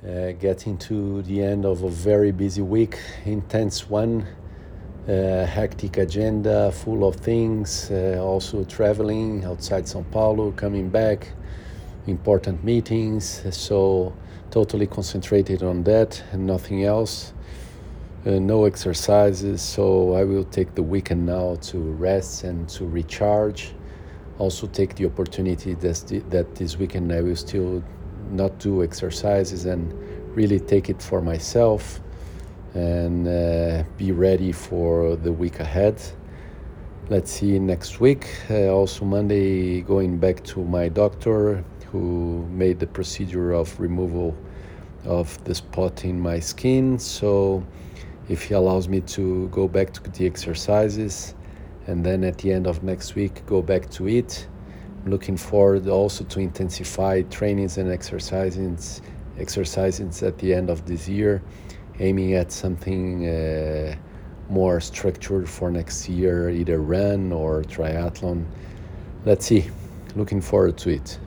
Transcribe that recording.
Getting to the end of a very busy week, intense one, hectic agenda, full of things, also traveling outside São Paulo, coming back, important meetings, so totally concentrated on that and nothing else. No exercises, so I will take the weekend now to rest and to recharge. Also take the opportunity that this weekend I will still not do exercises and really take it for myself and be ready for the week ahead. Let's see next week. Also Monday, going back to my doctor who made the procedure of removal of the spot in my skin. So if he allows me to go back to the exercises and then at the end of next week go back to it. I'm looking forward also to intensify trainings and exercises at the end of this year, aiming at something more structured for next year, either run or triathlon. Let's see, looking forward to it.